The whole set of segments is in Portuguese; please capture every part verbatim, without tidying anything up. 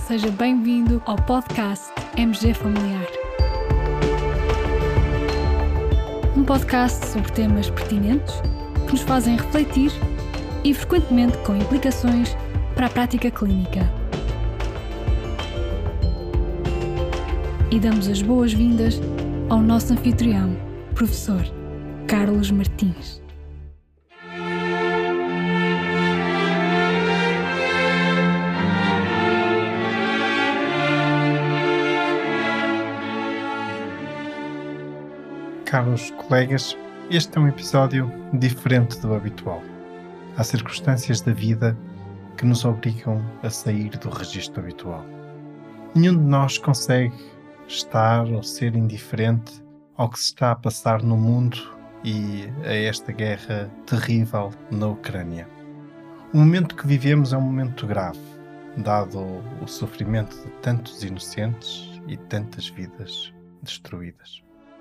seja bem-vindo ao podcast M G Familiar. Um podcast sobre temas pertinentes que nos fazem refletir e frequentemente com implicações para a prática clínica. E damos as boas-vindas ao nosso anfitrião, professor Carlos Martins. Caros colegas, este é um episódio diferente do habitual. Há circunstâncias da vida que nos obrigam a sair do registro habitual. Nenhum de nós consegue estar ou ser indiferente ao que se está a passar no mundo e a esta guerra terrível na Ucrânia. O momento que vivemos é um momento grave, dado o sofrimento de tantos inocentes e tantas vidas destruídas.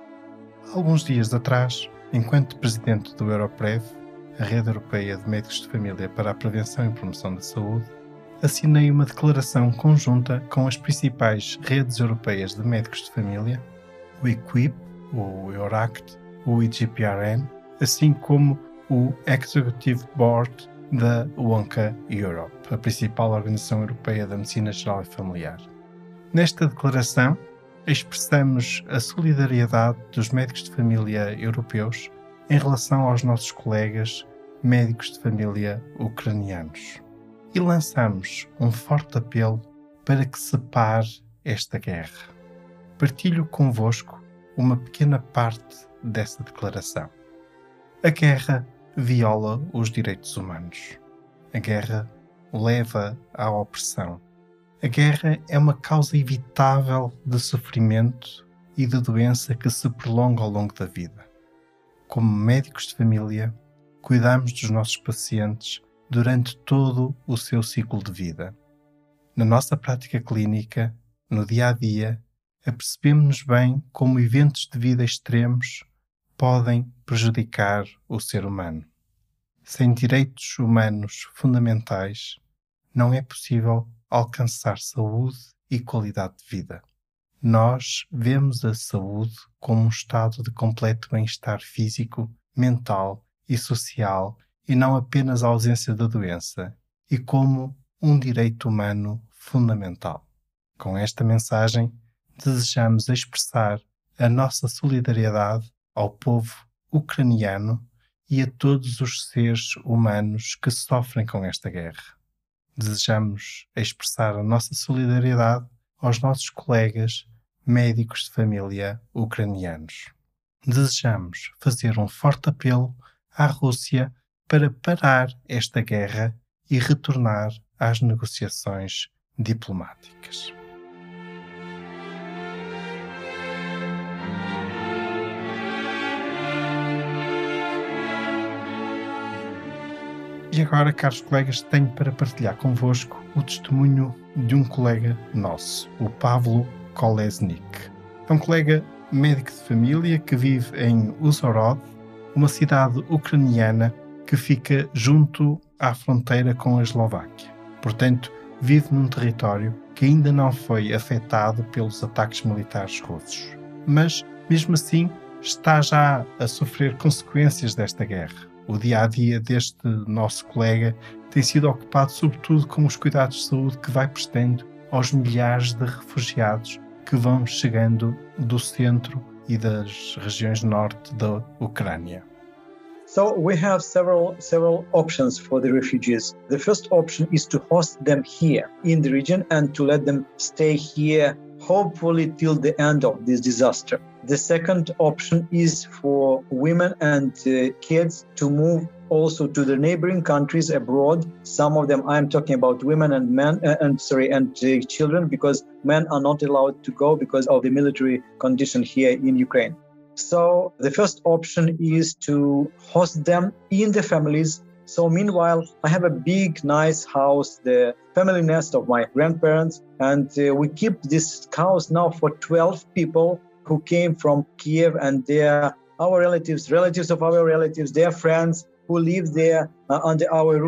Há alguns dias atrás, enquanto presidente do Europrev, a Rede Europeia de Médicos de Família para a Prevenção e Promoção da Saúde, assinei uma declaração conjunta com as principais redes europeias de médicos de família, o EQUIP, o EURACT, o I G P R N, assim como o Executive Board da WONCA Europe, a principal organização europeia da medicina geral e familiar. Nesta declaração, expressamos a solidariedade dos médicos de família europeus em relação aos nossos colegas médicos de família ucranianos e lançamos um forte apelo para que se pare esta guerra. Partilho convosco uma pequena parte dessa declaração. A guerra viola os direitos humanos. A guerra leva à opressão. A guerra é uma causa evitável de sofrimento e de doença que se prolonga ao longo da vida. Como médicos de família, cuidamos dos nossos pacientes durante todo o seu ciclo de vida. Na nossa prática clínica, no dia a dia, apercebemos-nos bem como eventos de vida extremos podem prejudicar o ser humano. Sem direitos humanos fundamentais, não é possível alcançar saúde e qualidade de vida. Nós vemos a saúde como um estado de completo bem-estar físico, mental e social e não apenas a ausência da doença, e como um direito humano fundamental. Com esta mensagem, desejamos expressar a nossa solidariedade ao povo ucraniano e a todos os seres humanos que sofrem com esta guerra. Desejamos expressar a nossa solidariedade aos nossos colegas médicos de família ucranianos. Desejamos fazer um forte apelo à Rússia para parar esta guerra e retornar às negociações diplomáticas. E agora, caros colegas, tenho para partilhar convosco o testemunho de um colega nosso, o Pavlo Kolesnik. É um colega médico de família que vive em Uzhhorod, uma cidade ucraniana que fica junto à fronteira com a Eslováquia. Portanto, vive num território que ainda não foi afetado pelos ataques militares russos. Mas, mesmo assim, está já a sofrer consequências desta guerra. O dia-a-dia deste nosso colega tem sido ocupado sobretudo com os cuidados de saúde que vai prestando aos milhares de refugiados que vão chegando do centro e das regiões norte da Ucrânia. So we have several several options for the refugees. The first option is to host them here in the region and to let them stay here, hopefully till the end of this disaster. The second option is for women and uh, kids to move also to the neighboring countries abroad. Some of them, I'm talking about women and men, uh, and sorry, and uh, children, because men are not allowed to go because of the military condition here in Ukraine. So the first option is to host them in the families. So meanwhile, I have a big, nice house, the family nest of my grandparents, and uh, we keep this house now for twelve people who came from Kiev, and they're our relatives, relatives of our relatives, their friends who live there uh, under our roof.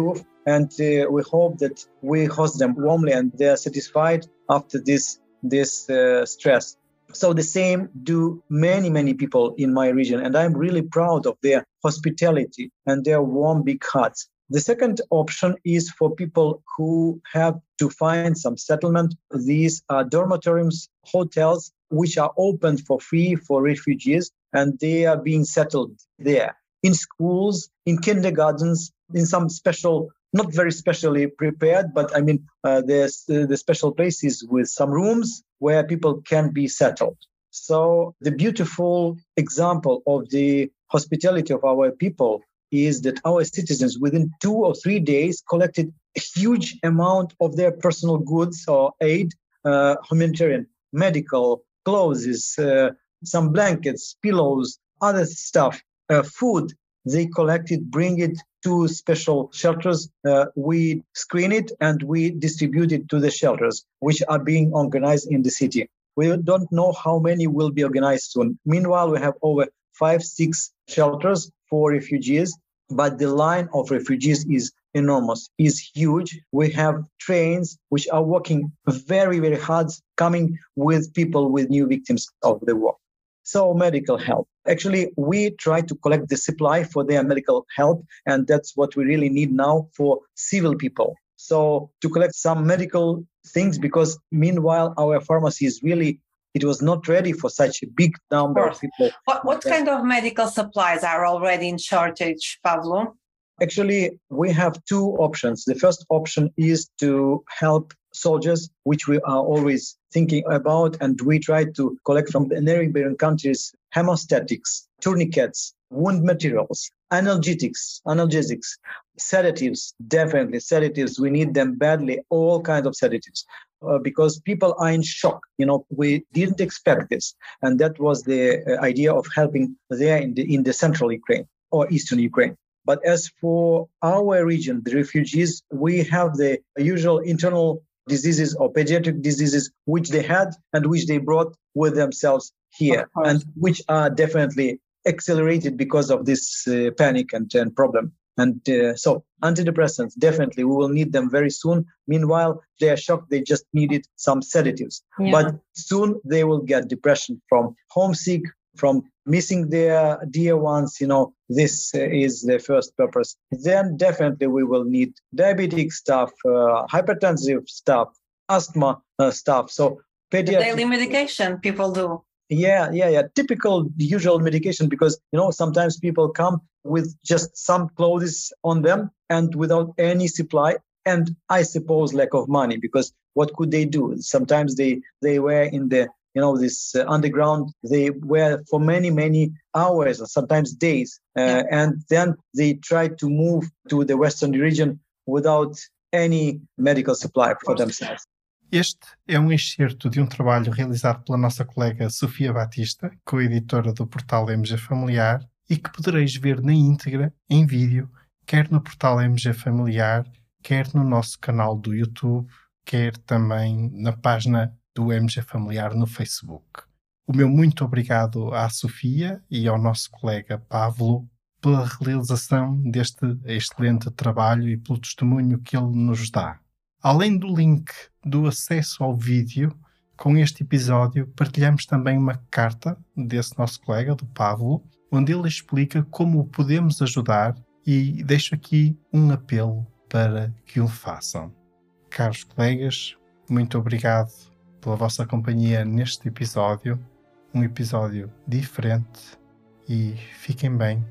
And uh, we hope that we host them warmly and they are satisfied after this, this uh, stress. So the same do many, many people in my region. And I'm really proud of their hospitality and their warm, big hearts. The second option is for people who have to find some settlement. These are dormitories, hotels, which are opened for free for refugees, and they are being settled there. In schools, in kindergartens, in some special, not very specially prepared, but I mean, uh, there's uh, the special places with some rooms where people can be settled. So the beautiful example of the hospitality of our people is that our citizens within two or three days collected a huge amount of their personal goods or aid, uh, humanitarian, medical, clothes, uh, some blankets, pillows, other stuff, uh, food. They collected, bring it to special shelters. Uh, we screen it and we distribute it to the shelters, which are being organized in the city. We don't know how many will be organized soon. Meanwhile, we have over five, six shelters for refugees, but the line of refugees is enormous, is huge. We have trains which are working very, very hard, coming with people with new victims of the war. So medical help. Actually, we try to collect the supply for their medical help, and that's what we really need now for civil people. So to collect some medical things, because meanwhile, our pharmacy is really, it was not ready for such a big number of, of people. What, what kind of medical supplies are already in shortage, Pavlo? Actually, we have two options. The first option is to help soldiers, which we are always thinking about, and we try to collect from the neighboring countries hemostatics, tourniquets, wound materials, analgesics, analgesics, sedatives, definitely sedatives. We need them badly, all kinds of sedatives, uh, because people are in shock. You know, we didn't expect this, and that was the uh, idea of helping there in the in the central Ukraine or eastern Ukraine. But as for our region, the refugees, we have the usual internal diseases or pediatric diseases which they had and which they brought with themselves here, and which are definitely accelerated because of this uh, panic and, and problem. And uh, so antidepressants, definitely, we will need them very soon. Meanwhile, they are shocked, they just needed some sedatives. Yeah. But soon they will get depression from homesick, from missing their dear ones. You know, this uh, is the first purpose. Then definitely we will need diabetic stuff, uh, hypertensive stuff, asthma uh, stuff. So pediatric, the daily medication people do. Yeah, yeah, yeah. Typical, usual medication, because, you know, sometimes people come with just some clothes on them and without any supply. And I suppose lack of money, because what could they do? Sometimes they, they were in the, you know, this uh, underground, they were for many, many hours or sometimes days. Uh, yeah. And then they tried to move to the Western region without any medical supply for themselves. Este é um excerto de um trabalho realizado pela nossa colega Sofia Batista, co-editora do portal M G Familiar, e que podereis ver na íntegra, em vídeo, quer no portal M G Familiar, quer no nosso canal do YouTube, quer também na página do M G Familiar no Facebook. O meu muito obrigado à Sofia e ao nosso colega Pavlo pela realização deste excelente trabalho e pelo testemunho que ele nos dá. Além do link do acesso ao vídeo, com este episódio partilhamos também uma carta desse nosso colega, do Pavlo, onde ele explica como o podemos ajudar, e deixo aqui um apelo para que o façam. Caros colegas, muito obrigado pela vossa companhia neste episódio, um episódio diferente, e fiquem bem,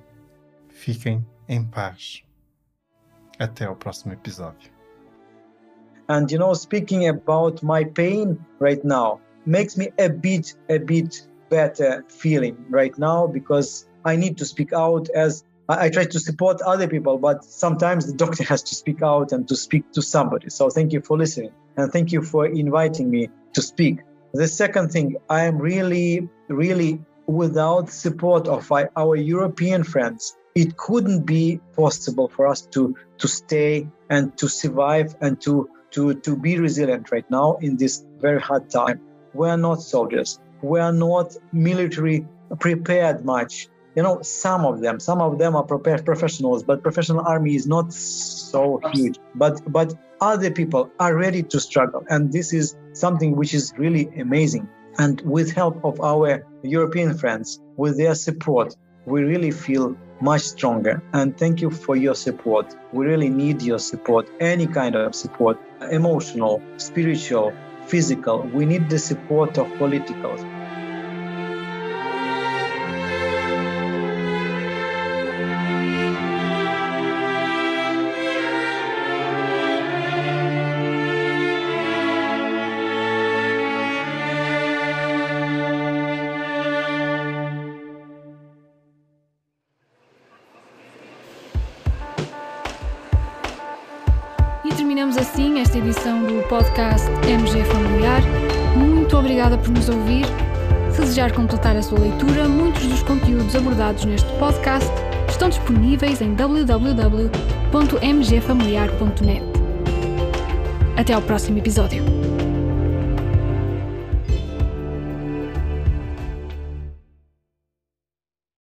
fiquem em paz. Até ao próximo episódio. And, you know, speaking about my pain right now makes me a bit, a bit better feeling right now, because I need to speak out as I, I try to support other people, but sometimes the doctor has to speak out and to speak to somebody. So thank you for listening, and thank you for inviting me to speak. The second thing, I am really, really without support of our European friends, it couldn't be possible for us to, to stay and to survive and to To, to be resilient right now in this very hard time. We are not soldiers. We are not military prepared much. you know, some of them, some of them are professionals, but professional army is not so huge. But but other people are ready to struggle, and this is something which is really amazing. And with help of our European friends, with their support, we really feel much stronger. And thank you for your support. We really need your support, any kind of support, emotional, spiritual, physical. We need the support of political. Terminamos assim esta edição do podcast M G Familiar. Muito obrigada por nos ouvir. Se desejar completar a sua leitura, muitos dos conteúdos abordados neste podcast estão disponíveis em w w w ponto m g familiar ponto net. Até ao próximo episódio.